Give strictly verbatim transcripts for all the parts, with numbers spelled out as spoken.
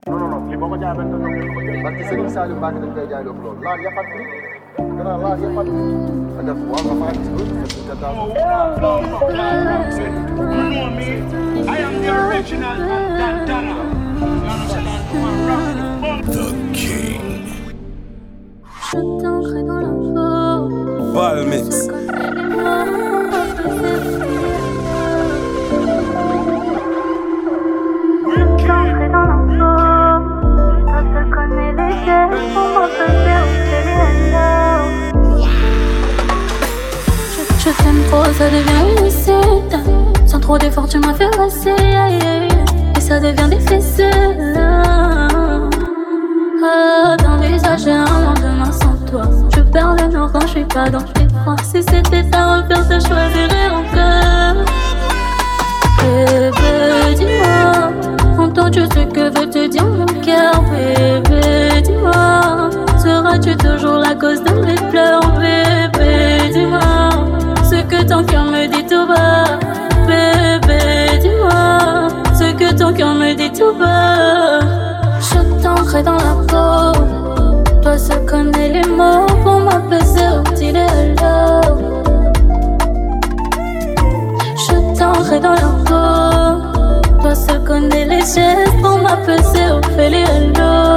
non non non li boo ko jaay benn dëkk parce que Serigne Saliou Mbacke dañ koy jaay loolu laal yàqat bi gannaaw laal yàqat bi nga def waaw nga faa gis ko nga daal. I am the original Dantana. The King. Je t'ancre dans la peau. Balmix. T'ancrer dans la peau. Toi seul connais les gestes pour m'empêcher où c'est les hello. Je, je t'aime trop, ça devient illicite. Sans trop d'efforts, tu m'as fait passer. Et ça devient difficile. Ah, d'envisager un lendemain sans toi. Je perds le nord quand je suis pas dans tes bras. Si c'était à refaire, je choisirais encore. Bébé, dis-moi, entends-tu ce que veut te dire mon cœur? Bébé, dis-moi, seras-tu toujours la cause de mes pleurs? Bébé, dis-moi, ce que ton cœur me dit tout bas. Bébé, dis-moi, ce que ton cœur me dit tout bas. Je t'ancre dans la peau. Toi seul connais les mots pour m'apaiser au petit hello. Je t'ancre dans la peau. Toi seul connais les gestes pour m'apaiser au petit hello.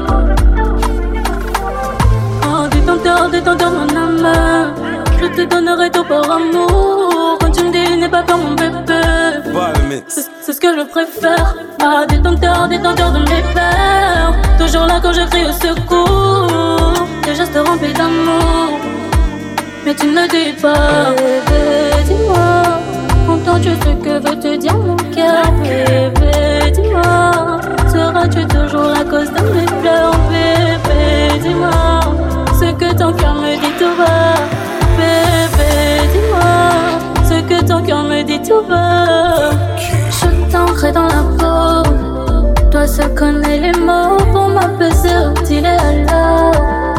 Oh, détenteur, détenteur mon âme. Je te donnerai tout par amour. Quand tu me dis n'aie pas peur mon bébé. C'est, c'est ce que je préfère. Ah, détenteur, détenteur de mes peurs. Toujours là quand je crie au secours. Tes gestes remplis d'amour, mais tu ne le dis pas. Bébé, dis-moi, entends-tu ce que veut te dire mon cœur? Bébé, dis-moi, seras-tu toujours la cause de mes pleurs? Bébé, dis-moi, ce que ton cœur me dit tout bas. Bébé, dis-moi, ce que ton cœur me dit tout bas. Je t'ancre dans la peau. Toi seul connais les mots pour m'apaiser au petit hello.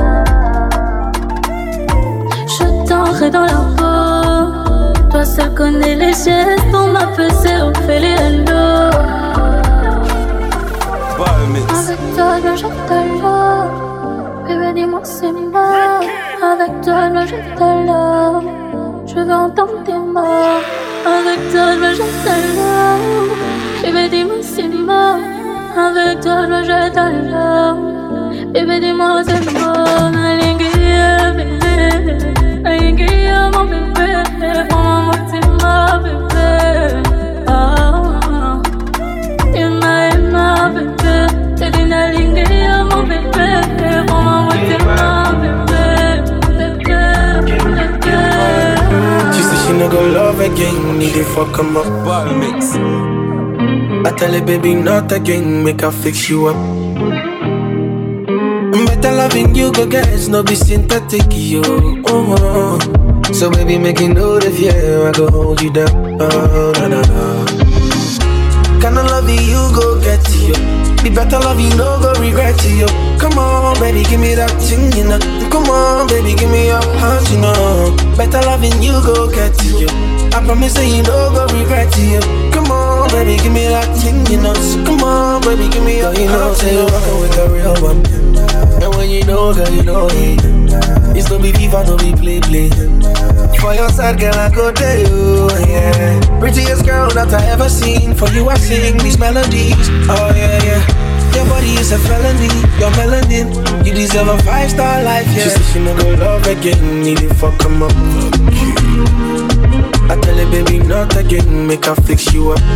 Je t'ancre dans la peau. Toi seul connais les gestes pour m'apaiser au petit hello. Avec toi, je t'adore. Bébé, dis-moi c'est moi. Avec toi, je t'adore. Je veux entendre tes mots. Avec toi, je t'adore. Bébé, dis-moi c'est moi. Avec toi, je t'adore. Bébé, dis-moi c'est moi. Alinguia, bébé. Alinguia, mon bébé. Prends-moi, c'est ma bébé. Ah, Emma, Emma, bébé. T'es une alinguia, mon bébé. Prends-moi, c'est ma bébé. Bébé, bébé. She said she no go love again, need to fuck him up. Balmix. I tell her, baby, not again, make her fix you up. Better loving you, go guys, no be synthetic, yo. Oh, oh. So baby, make it know the fear, I go hold you down. Oh, na na na. Kinda love you, go get you. Be better love you, no go regret you. Come on, baby, give me that thing, you know. Come on, baby, give me your heart, you know. Better loving you, go get you. I promise that you no go regret you. Come on, baby, give me that thing, you know. So come on, baby, give me your heart, you know. Say you're rockin' with the real one. And when you know, girl, you know it. It's no be FIFA, no be play play. For your side, girl, I go there, you, yeah. Prettiest girl that I ever seen. For you, I sing these melodies. Oh yeah, yeah. Your body is a felony, your melanin. You deserve a five-star life, yeah. She said she no go love again, need to fuck him up. I tell her, baby, not again, make her fix you up.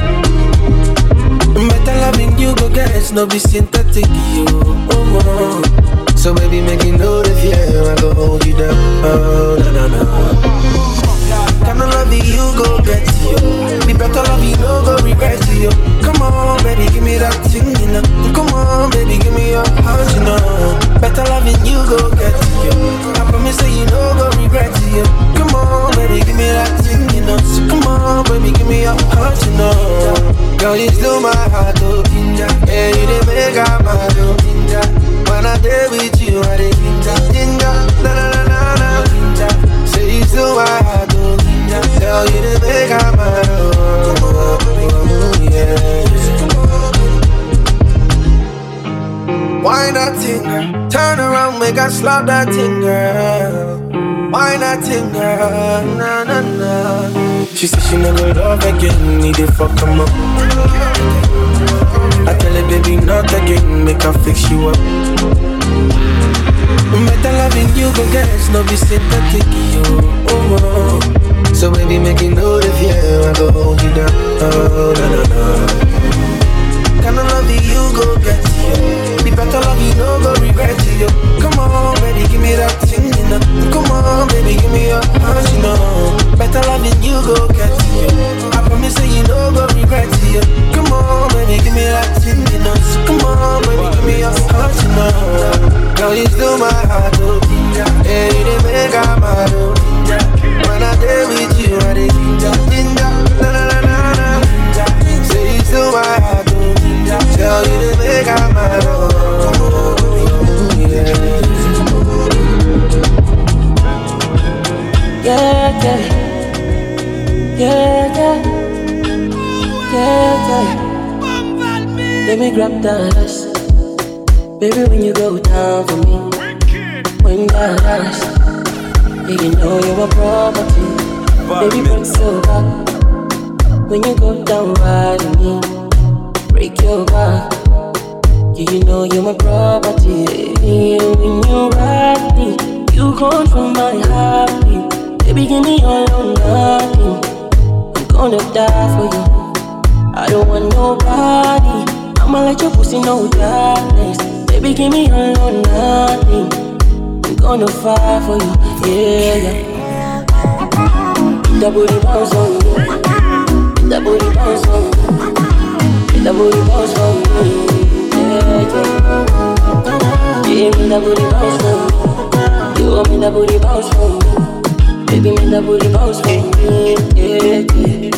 Better loving you, go guys, no be synthetic, you. Oh, oh. So baby, make it know the fear, I go hold you down. Oh, na na na. Kinda love you, go get you. Be better love you, no go regret you. Come on, baby, give me that thing, you know. Come on, baby, give me your heart, you know. Better loving you, go get you. I promise that you no go regret you. Come on, baby, give me that thing, you know. So come on, baby, give me your heart, you know. Girl, you still my heart, oh, ginger. Yeah, you the make up my oh, ginger. When I day with you, I dey ginger, ginger. Na na na na na, ginger. Say you still my heart, oh, ginger. Girl, you the make up my oh, oh, oh, yeah. Why not thing, girl? Turn around, make I slap that thing, girl. Why not thing, girl? Nah, nah, nah. She said she never love again, need to fuck him up. I tell her, baby, not again, make her fix you up. Better loving you, go guess, no be sympathetic, yo. Oh, oh. So baby, make it know the fear, I go hold you down. Oh, no, no, no. Kinda love you, go get you. The better love you, no go regret you. Come on, baby, give me that thing, you know. Come on, baby, give me your heart, you know. Better loving you, go get you. I promise that you no go regret you. Come on, baby, give me that thing, you know. So come on, baby, give me your heart, you know. Girl, you still my heart, oh. Yeah, you didn't make her mad, oh. When I day with you, I did ginger, ginger, na na na na na. Say you still my heart, oh. Tell you to make her mad, oh. Yeah, yeah, yeah, yeah, yeah, yeah, yeah. Let me grab that ass. Baby, when you go down for me, when that ass, yeah, you know you're a property. Baby, break your back. When you go down right on me, break your back. Yeah, you know you're my property. Yeah, when you ride me, you control my heartbeat. Baby, give me all or nothing. I'm gonna die for you. I don't want nobody. I'ma let your pussy know darkness. Baby, give me all or nothing. I'm gonna fight for you, yeah, yeah. That booty bounce on me. That booty bounce on me. That booty bounce on me, yeah, yeah. Give me that booty bounce on me. You want me that booty bounce on me. Baby, me that booty bounce on me, yeah, yeah.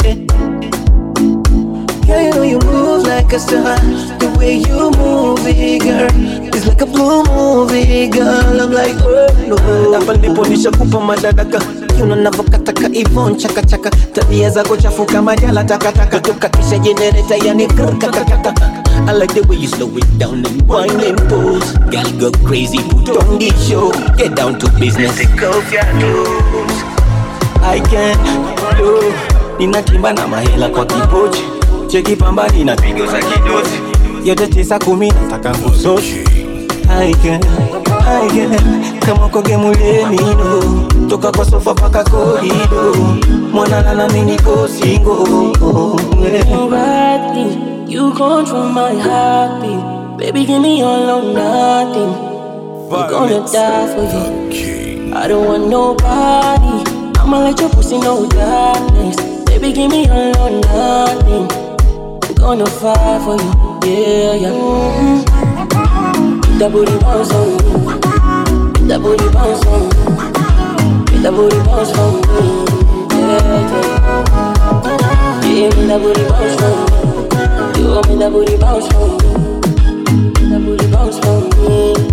Girl, you know you move like a star. The way you move it, girl, it's like a blue movie, girl. I'm like, oh no. Hapa ndipo nishakupa madadaka. Kiuno navokataka Ivon chaka chaka. Tabia zako chafu kama jala takataka. Kutoka kisha generator yani kakakaka. I like the way you slow it down and wine and pose. Girl, go crazy, put on the show. Get down to business. Take off your clothes. I can't do. Ninatimba na mahela kwa kipochi. Cheki pambani na pigo za kidosi. Yote tisa kumi nataka kusoshi. I can, I can. Kama koge muleni no. Toka kwa sofa paka korido. Mwana lala mini ko single. Alright, you control my heartbeat. Baby, give me all or nothing. I'm gonna die for you. I don't want nobody. I'ma let your pussy know darkness. Baby, give me all or nothing. I'm gonna fight for you, yeah, yeah. Mm-hmm. That booty bounce on me. That booty bounce on me. That booty bounce on me, yeah, yeah. Give me that booty bounce on me. You want me that booty bounce on me. That booty bounce on me.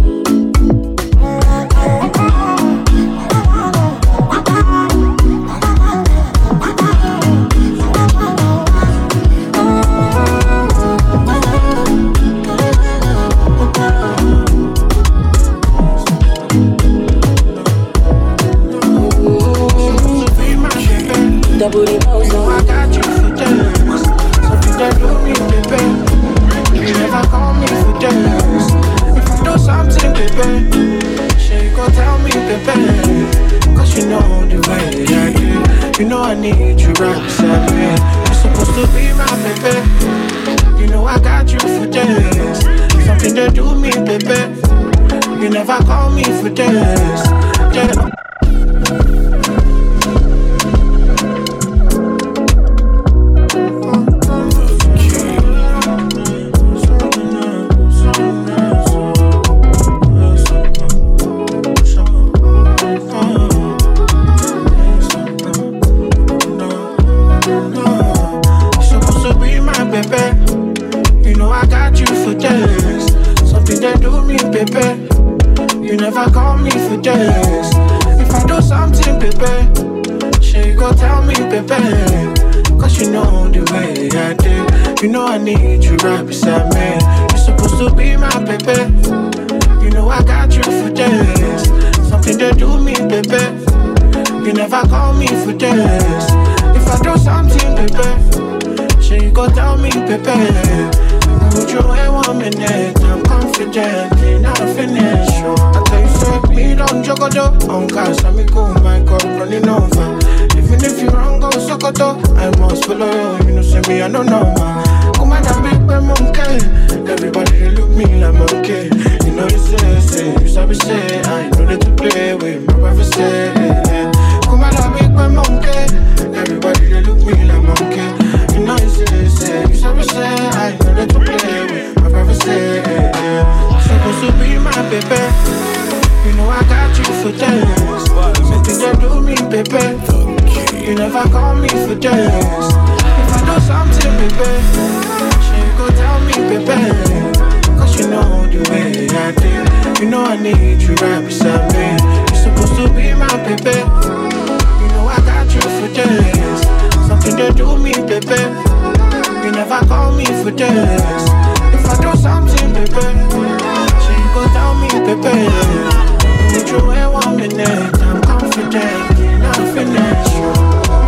That booty bounce on me. I got you for days. Something that do me, baby. You never call me for days. If I do something, baby, sure you gon' tell me, baby. Cause you know the way I do. You know I need you right beside me. You're supposed to be my baby. You know I got you for days. Something that do me, baby. You never call me for days. Yeah. You know I need you right beside me. You're supposed to be my baby. I don't know. Come on, I make my monkey. Everybody they look me like monkey. You know you say, say, you sabi say. I know that to play with my brother say. Come on, I make my monkey. Everybody they look me like monkey. You know you say, say, you sabi say. I know that to play with my brother say. Supposed to be my baby. You know I got you for days. Something you do me, baby. You never call me for days. If I do something, baby, she go tell me, baby. Cause you know the way I do. You know I need you right beside me. You're supposed to be my baby. You know I got you for days. Something you do me, baby. You never call me for days. If I do something, baby, she go tell me, baby. Put you in one minute, I'm confident, not finished.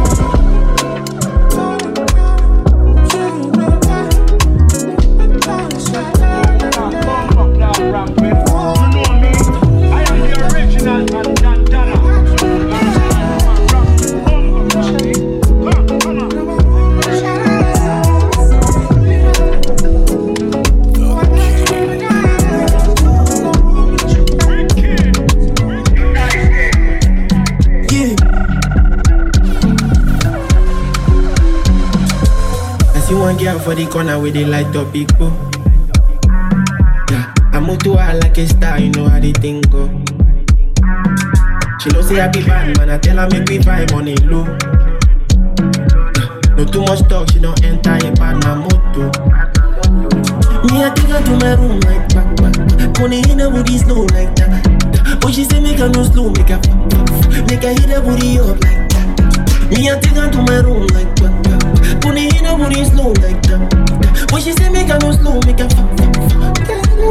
Girl for the corner with the light up big bro. Yeah, I move to her like a star, you know how the thing go. She know say I be bad man, I tell her make me vibe on it low. Yeah, no too much talk, she don't enter a bad man moto. Me I take her to my room like back back. Money in her booty slow like that. But she say make her no slow, make her make her hit her booty up like that. Me I take her to my room like back back. Pony in a booty slow like that. When she say make her no slow, make her fuck, fuck, fuck.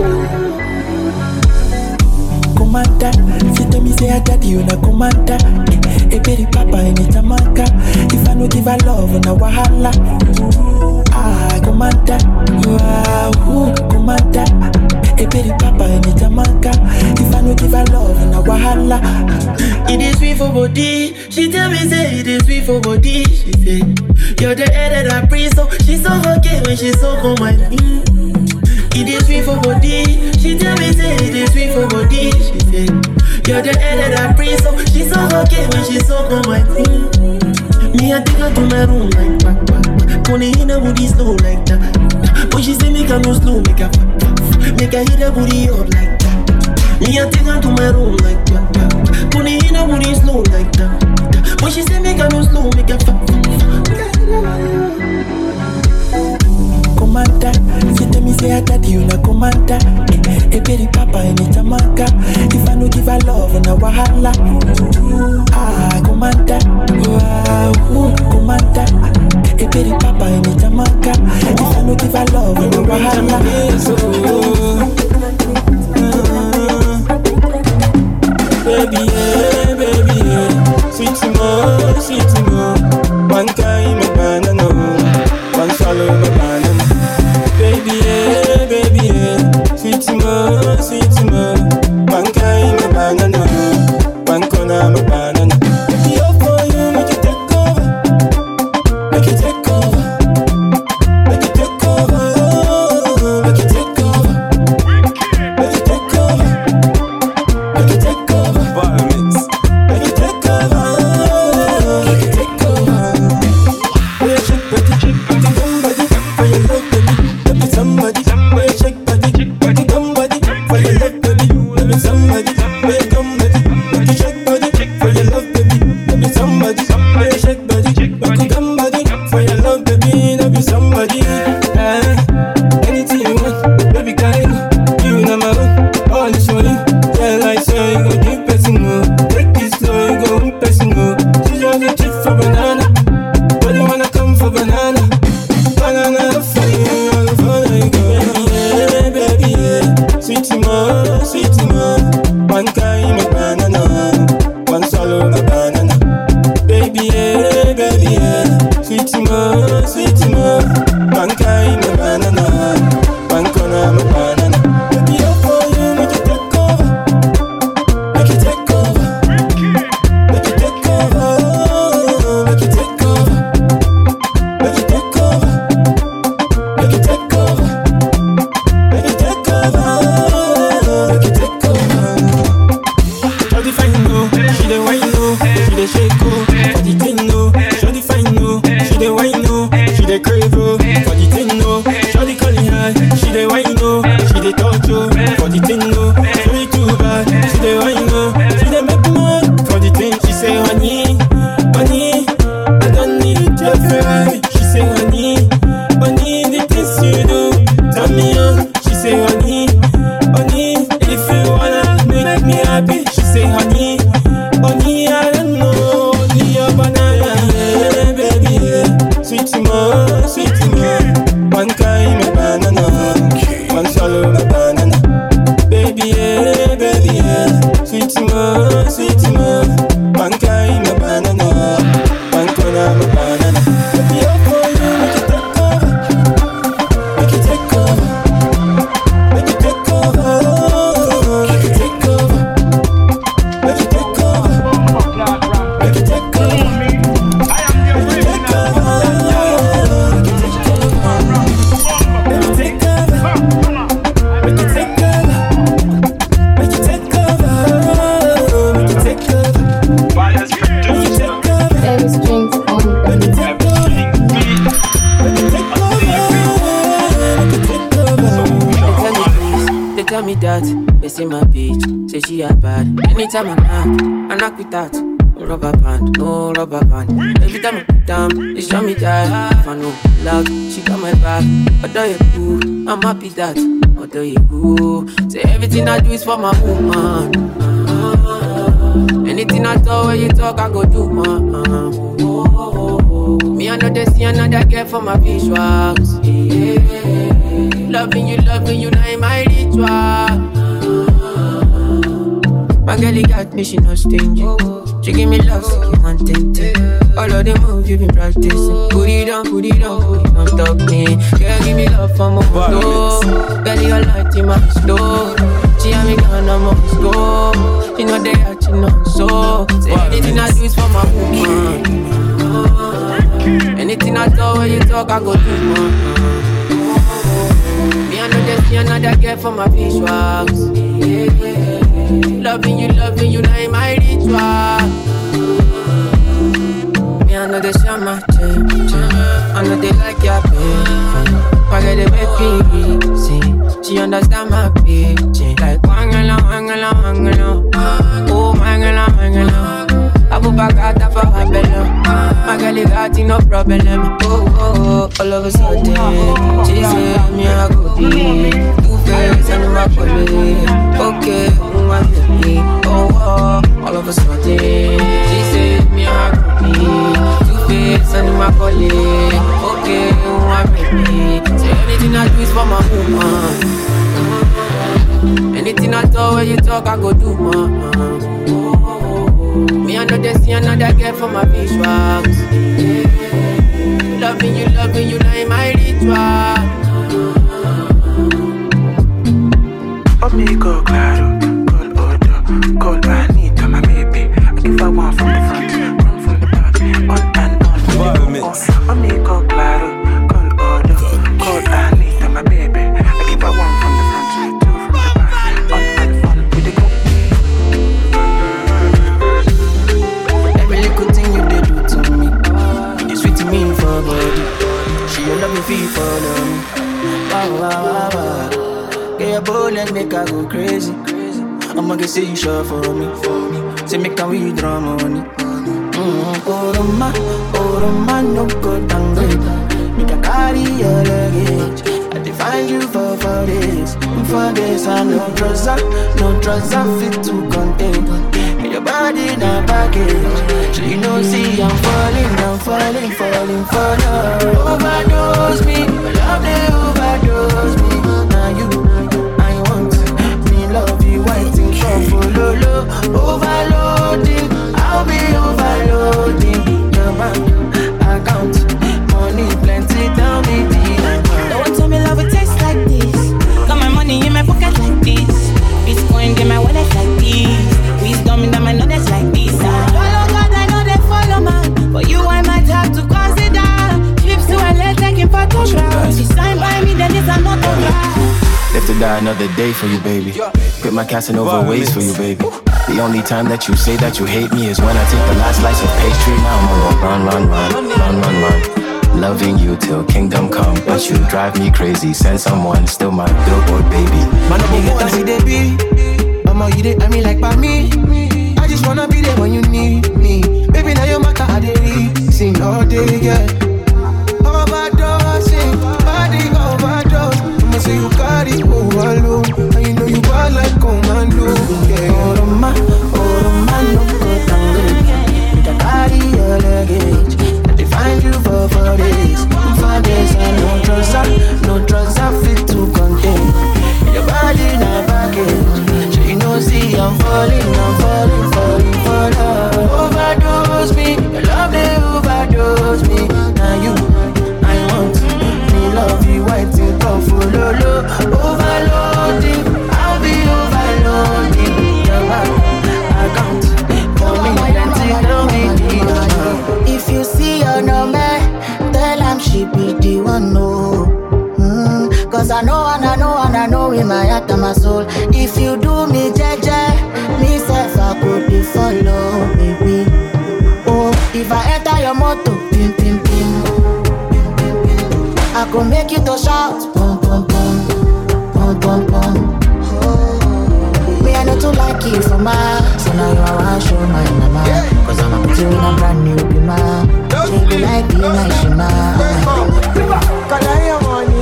Commander, she tell me say I got you na commander. A baby papa in Jamaica. If I no give her love, na wahala. Ah, commander, wow, commander. A baby papa in Jamaica. If I no give her love, na wahala. It is sweet for body. She tell me say it is sweet for body. She say you're the air that I breathe, so she's so okay when she's so on my feet. It is sweet for body. She tell me say it is sweet for body. She say you're the air that I breathe, so she's so okay when she's so on my feet. Me I take her to my room like back back. Pony in her booty slow like that. When she say make her no slow, make her make her hit her booty up like that. Me I take her to my room like back back. Pony in her booty slow like that. When she say make her no slow, make her commander, she tell me say I got you na commander. A baby papa in Jamaica. If I no give her love, na wahala. Ah, commander, wow, commander. A baby papa in Jamaica. If I no give her love, na wahala. Baby, yeah, baby, yeah. Sweet more, sweet more. One time a banana, one swallow my banana. Baby, yeah, baby, yeah. Sweet more, sweet more. One kind of banana, one corner my banana. Yo for you, make it take over, make it take over, make it take over, make it take over. the touch, oh, for the thing, oh. She too bad, she the wine, oh. She the make mad for the thing. She say, honey, honey, I don't need your Ferrari. She say, honey, honey, the things you do, turn me on. She say, honey, honey, if you wanna make me happy. She say, honey, honey, I don't know, honey, your banana, yeah, baby, yeah. Sweet more, sweet more. One kind of banana, one swallow of banana. Baby, yeah, baby, yeah. Sweet more, sweet more. One kind of banana, one corner of banana. Baby, up for you, make it take over, make it take over, make it take over, make it take over, make it take over, make it take over. Tell me that, they say my bitch, say she a bad. Anytime I knock, I knock with that. No rubber band, no rubber band. Every time I put down, they show me that. If I know loud, she got my back. Although you cool, I'm happy that. Although you cool, say everything I do is for my woman. Anything I talk, when you talk, I go do, man. Me, I know they see another girl for my visuals. Yeah. Loving you, loving you, now in my ritual. My girl, you got me, she no stingy. She give me love, so keep contented. All of the moves you been practicing. Put it on, put it on, put it on top me. Girl, give me love for my door. Girl, you're light in my store. She and me gone, I'm on this go. She know they are, she know so. Say anything I do is for my woman. Anything I talk, when you talk, I go do, man. Me, I know there's see another girl for my visuals. Yeah. Loving you, loving you, now in my ritual. Me, I know they share my change. I know they like your baby. I get it make me see. She understand my bitch. Like wangala, wangala, wangala. Oh, wangala, wangala. I put back out for her belly. My girl got no problem. Oh, oh, all of a sudden she said me I go be two face and my colleague. Okay, my baby. Oh, oh, all of a sudden she said me I go be two face and my colleague. Okay, my baby. Say anything I do is for my woman. Anything I talk, when you talk, I go do, man. Me, I know they see another girl for my visuals. Yeah. Loving you, loving you, now in my ritual. Amigo, claro, call order, call Anita, my baby. I give her one from the front, one from the back, on and on. Oh, amigo, claro, call order, call Anita, my baby. I give her one from the front, two from the back, on and on with the go. Good thing you did do to me. You sweet to me for body. She will love me feel for them. Wow, wow, wow, wow. Get your bullet, make her go crazy. I'ma get say you sure for me, for me. Say make her withdraw money. Mm-hmm. Oh, Roma, oh, Roma, no good and great. Make her carry your luggage. I define you for four days. For days, I no trouser, no trouser fit to contain. Your body in a package. So you know, see, I'm falling, I'm falling, falling for love. Overdose me, love they overdose me. Now you, I want me love you, waiting for follow. Overloading, I'll be overloading. Your bank account, money plenty, tell me the amount. Don't tell me love it tastes like this. Got my money in my pocket like this. Bitcoin in my wallet like this. Wisdom in them, I know that's like this. Follow God, I know they follow man. But you, I might have to consider. Trips to L A, taking photographs. You sign by me, then it's another guy. Live to die another day for you, baby. Quit my Casanova ways for you, baby. The only time that you say that you hate me is when I take the last slice of pastry. Now I'm on a run, run, run, run, run, run. Loving you till kingdom come, but you drive me crazy. Send someone, still my billboard, baby. with my heart and my soul. If you do me jeje, me self I could be follow, baby. Oh, if I enter your motor, pim pim pim, I could make you to shout, pum pum pum, pum pum pum. Me I know to like you for my, so now you wanna show my mama. Cause I'm a put you in a brand new bima. She be like be my shima. Color your money,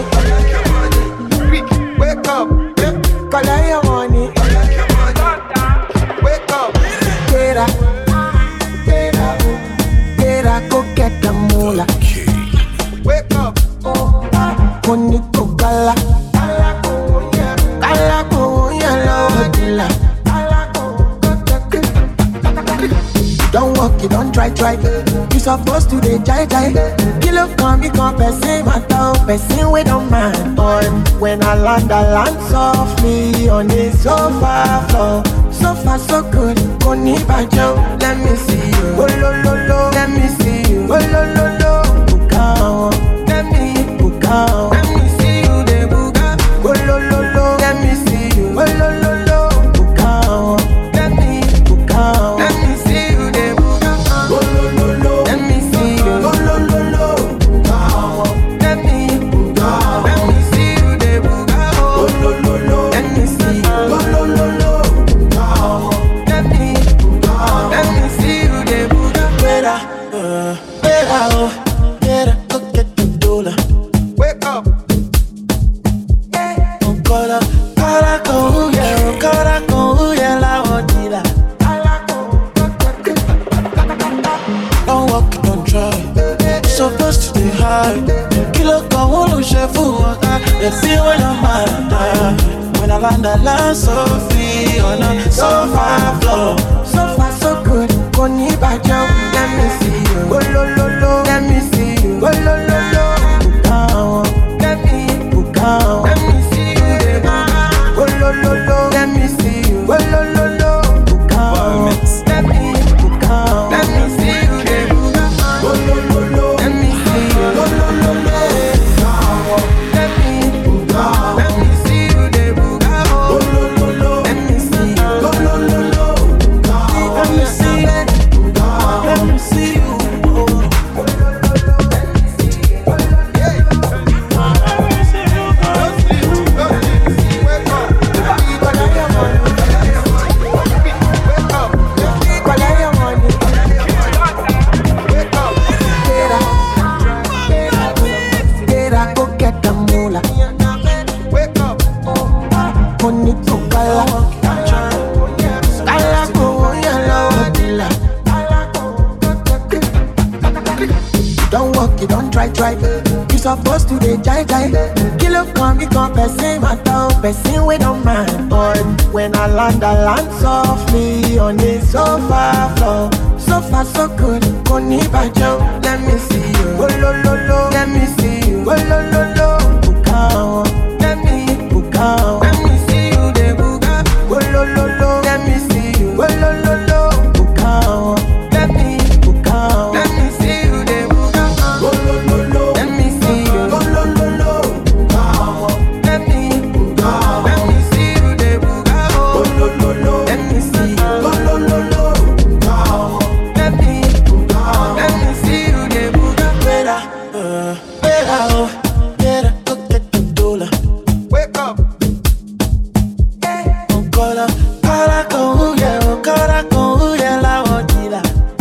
wake up. Color your money, wake up. Get up, get up, get up, go get the moolah. Wake up, money to gala, gala go yellow dilla. Don't walk, you don't try, try. You supposed to dey jai jai. Kill up, come become person, matter, person we don't mind. Boy, when I land, I land softly on the sofa floor. So far, so good. Koni bajo, let me see you. Oh lo lo lo, let me see you. Oh lo lo lo, bukao, let me bukao. Let me see you, de buka. Oh lo lo lo, let me see you. Oh lo lo lo, bukao, let me bukao. Let me see you, de buka. Oh lo lo lo, let me see you. Oh lo lo lo, bukao, let me bukao. Let me see you, de buka. Oh lo lo lo, let me see you. Oh lo lo lo, bukao, let me bukao. Let me see you, de buka. Better, uh, better, oh, better, go get the dollar. Wake up. Oh, cora, cora, con, yeah, cora, con, yeah, la odila. Don't walk, don't try. Supposed to be high. Kilo con uno chef water. Let's see when I'm mad. When I land, I land so free on a sofa floor. So far, so good. Koni bajo, let me see you. Oh lo lo lo, let me see you. Oh lo lo lo, bukao, let me bukao. Let me see you, baby. Oh lo lo lo, let me see you. Oh lo lo lo, bukao, let me bukao. Let me see you, baby. Oh lo lo lo, let me see you. Oh lo lo lo, bukao, let me bukao. Let me see you, baby. Oh lo lo lo, let me see you. Oh lo lo lo, bukao, let me see you. Let me see you. Don't walk, you don't try, try. You supposed to dey jai jai. Kill up, come become person, matter, person we don't mind. But when I land, I land softly on the sofa floor. So far, so good. Koni bajo, let me see you. Oh lo lo lo, let me see you. Oh lo lo lo, bukao, let me bukao. Let me see you, de buka. Oh lo lo lo, let me see you. Oh lo lo lo, bukao, let me bukao. Let me see you, de buka. Oh lo lo lo, let me see you. Oh lo lo lo, bukao, let me bukao. Let me see you, de buka. Oh lo lo lo, let me see you. Oh lo lo lo, bukao, let me bukao. Let me see you, de buka. Better, uh, better, oh, better, go get the dollar. Wake up. Oh, cora, cora, con, yeah, oh, cora, con, yeah, la odila.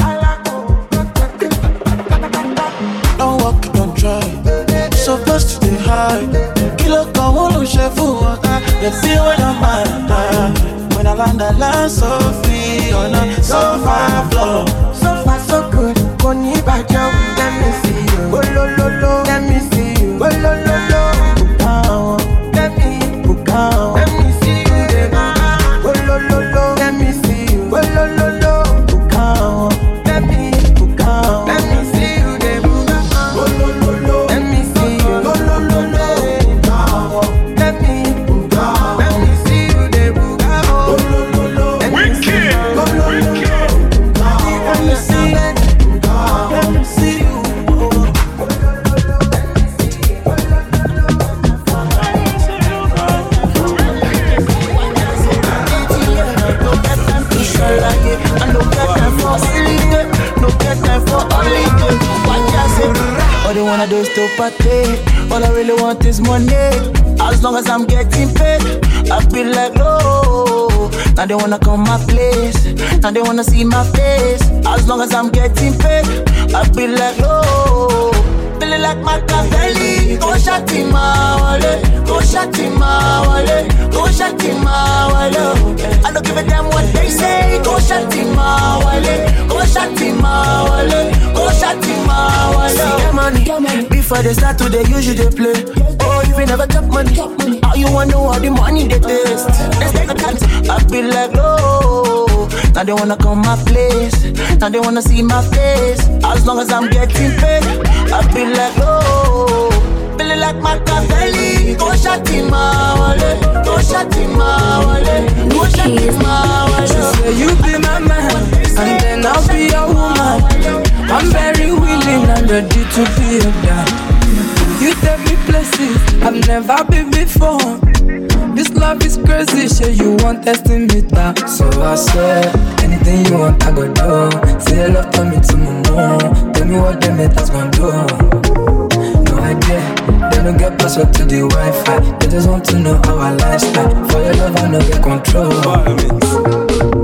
Don't walk, don't try. Supposed to be high. Kilo con uno chef water. Let's see when I'm mad. When I land, I land so free on a sofa floor. So far, so good. Koni bajo, let me see you. Oh lo lo lo, let me see you. Oh lo lo lo, bukao, let me bukao. Let me see you, baby. Oh lo lo lo, let me see you. Oh lo lo lo, bukao, let me bukao. Let me see you, baby. Oh lo lo lo, let me see you. Oh lo lo lo, bukao, let me bukao. Let me see you, baby. Oh lo lo lo, let me see you. Oh lo lo lo, bukao, let me see you. Let me see you. party. All I really want is money. As long as I'm getting paid, I feel like no. Now they wanna come my place. Now they wanna see my face. As long as I'm getting paid, I feel like no. Feeling like Machiavelli. Go shot in my wallet. Go shot in my wallet. Go shot in my wallet. I don't give a damn what they say. Go shot in my wallet. Go shot in my wallet. Go shot in my wallet. See the money. Before they start to, they usually they play. Oh, if you never chop money, how you wanna know how the money they taste? They take a chance. I feel like no. Now they wanna come my place. Now they wanna see my face. As long as I'm getting paid, I feel like no. Feeling like Machiavelli. Go shot in my wallet. Go shot in my wallet. Go shot in my wallet. She say you be my man, and then I'll be your woman. I'm very willing and ready to be your dad. You take me places I've never been before. This love is crazy, shit, you want testing me that. So I said, anything you want, I go do. Say your love, tell me to my mom. Tell me what them haters gon' do. No idea, they don't get password to the Wi-Fi. They just want to know our lifestyle. For your love, I know get control.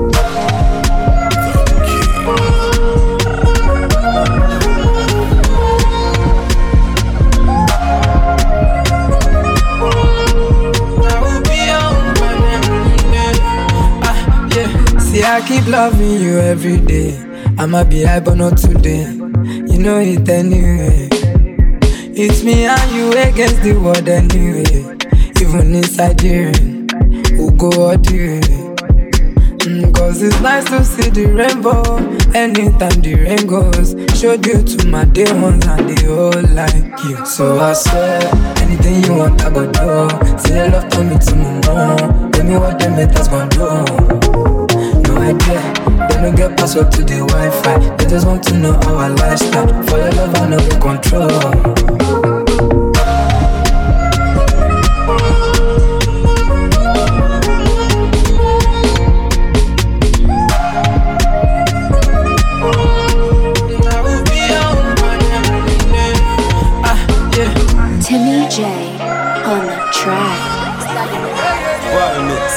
See, I keep loving you every day. I'ma be high but not today. You know it anyway. It's me and you against the world anyway. Even inside the rain, we'll go all the way. mm, Cause it's nice to see the rainbow anytime the rain goes. Showed you to my day ones and they all like you. So I swear, anything you want I go do. Say your love, tell me to my mom. Tell me what them haters gon' do. No idea, they don't get password to the Wi-Fi. They just want to know our lifestyle. For your love, I know the control. Timmy J on the track. Wild mix.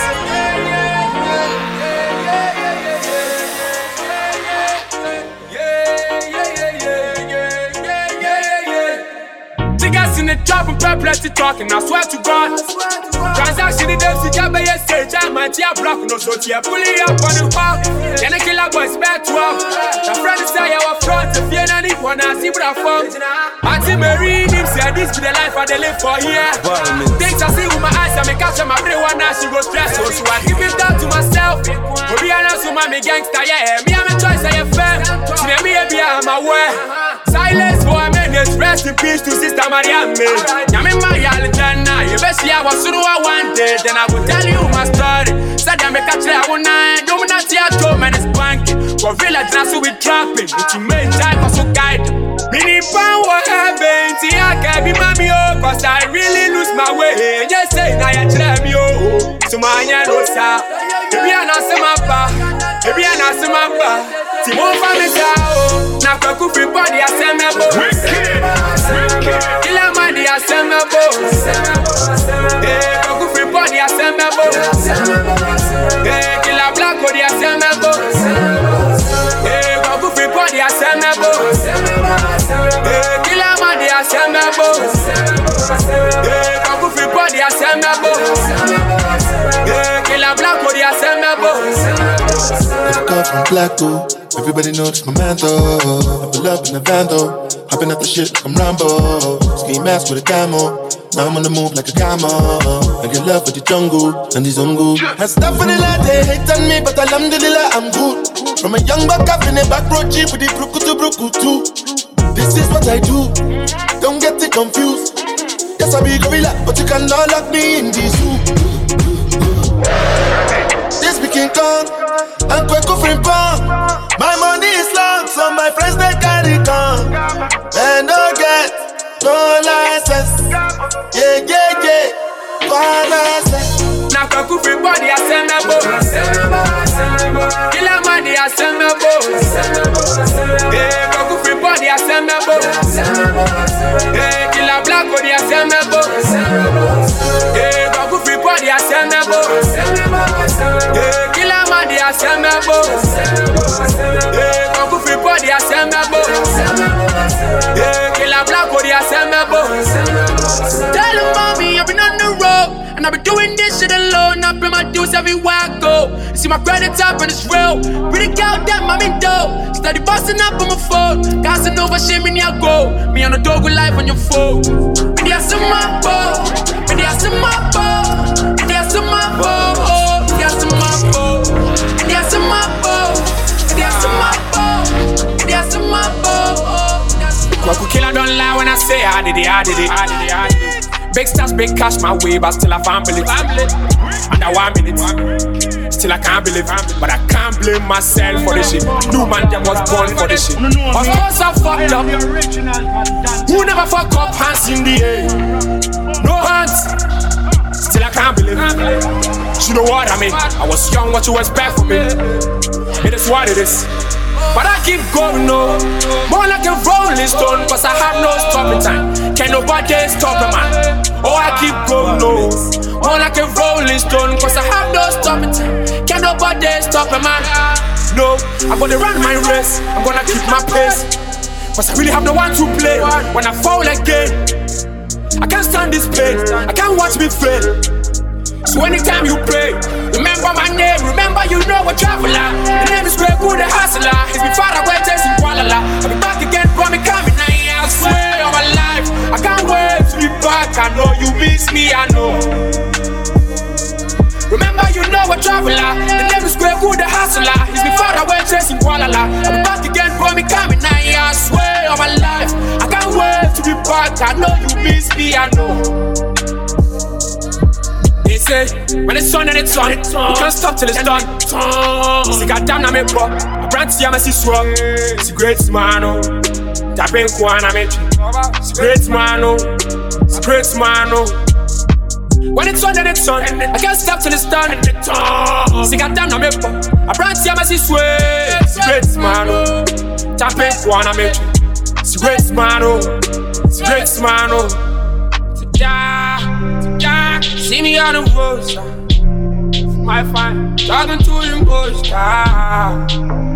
In the trap and plenty talking, I swear to God. Transaction in them, see Jabba, yes, say, Jam, and Tia Block, no so Tia, pulling up on the wall. Then a killer boys back to up. The friend is say, our front, if you don't need one, I see what I found. Auntie Mary, him say, this be the life I they live for here. Things I see with my eyes, I make catch my brain one now, she go stress. So I keep it down to myself. But be honest with my gangster, yeah, me, I'm a choice, I am fair. She let me be, I'm aware. Silence for a minute, rest in peace to Sister Maria. Yami Maya Jana, you best see I was so I wanted. Then I will tell you my story. Said I make a try one night. Don't not see a two man is banking. For village now so we trapping. It's a main time for so guide. Mini power heaven. See I can't be mommy oh. Cause I really lose my way. Just say now you try me oh. So my no sa. Maybe I not see my pa. Maybe I not see my pa. See more family sao. Now I could free body I send me bo. Killer man I send me bo. Eh, I could free body I send me bo. Eh, killer black body I send me bo. Eh, I could free body I send me bo. Eh, killer man I send me bo. Eh, I could free body I send me bo. Eh, killer black body I send me bo. It's a call from Blacko. Everybody knows it's my man though. I pull up in the van though. Hopping out the shit like I'm Rambo. Ski mask with a camo. Now I'm on the move like a camo. I get love with the jungle and the zungu. And stuff for the lad, they hate on me, but alhamdulillah I'm good. From a young buck up in a back road jeep with the bruku to bruku too. This is what I do. Don't get it confused. Yes, I be gorilla, but you cannot lock me in the zoo. This be King Kong. I'm quick offering pong. My money is long, so my friends they carry gun. And no get no license. Yeah, yeah, yeah. One license. Now I could free body I send me bo. Killer money I send me bo. Eh, I could free body I send me bo. Eh, killer black body a semebo. Yeah, Baku free body a semebo. Yeah, killer man a semebo. Yeah, Baku free body a semebo. Yeah, killer black body a semebo. Tell him mommy I've been on the road. And I be doing this shit alone, I pay my dues everywhere I go. You see my credit up and it's real. Pretty girl, damn, I'm in dough. Steady busting up on my phone. Gassing over shit, me near go. Me on the dog with life on your phone. Me there some my bow. Me there some my bow. Me there some my bow. Me there some my bow. Me there some my bow. Me there some my bow. Me there some my bow. Kwaku killer don't lie when I say I did it, I did it, I did it, I did it. Big stars, big cash my way, but still I can't believe it. Under one minute, still I can't believe it. But I can't blame myself for this shit. New man them was born for this shit. Of course I fucked up. Who never fuck up? Hands in the air. No hands. Still I can't believe it. You know what I mean? I was young, what you expect from me? It is what it is. But I keep going, no. More like a rolling stone, cause I have no stopping time. Can't nobody stop a man. Oh, I keep going, no. More like a rolling stone, cause I have no stopping time. Can't nobody stop a man. No, I'm gonna run my race. I'm gonna keep my pace. Cause I really have no one to play. When I fall again, I can't stand this pain. I can't watch me fail. So anytime you pray, remember my name, remember you know a traveler. The name is Greg Good, the hustler. It's been far away, chasing Kuala. I'll be back again, for me coming, I swear on my life. I can't wait to be back, I know you miss me, I know. Remember you know a traveler. The name is Greg Good, the hustler. It's been far away, chasing Kuala. I'll be back again, for me coming, I swear on my life. I can't wait to be back, I know you miss me, I know. They say, when it's on and it's on, we can't stop till it's done. See, goddamn, I'm a bro. I brand see, I'm a swag. It's a great man, oh. Tapping Kwan, I'm a It's a great man, oh. It's a great man, oh. When it's on and it's on, I can't stop till it's done. See, goddamn, I'm a bro. I brand see, I'm a swag. It's a great man, oh. Tapping Kwan, I'm a It's a great man, oh. It's a great man, oh. Yeah, yeah, see me on the road, my fine, talking to them boys, yeah.